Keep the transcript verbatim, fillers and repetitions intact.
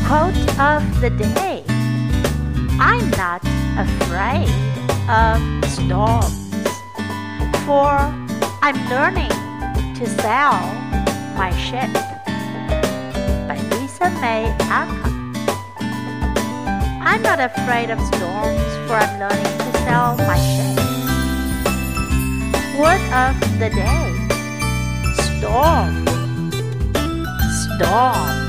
Quote of the day: I'm not afraid of storms, for I'm learning to sail my ship. By Lisa May Alcott. I'm not afraid of storms, for I'm learning to sail my ship. Word of the day: storm, storm.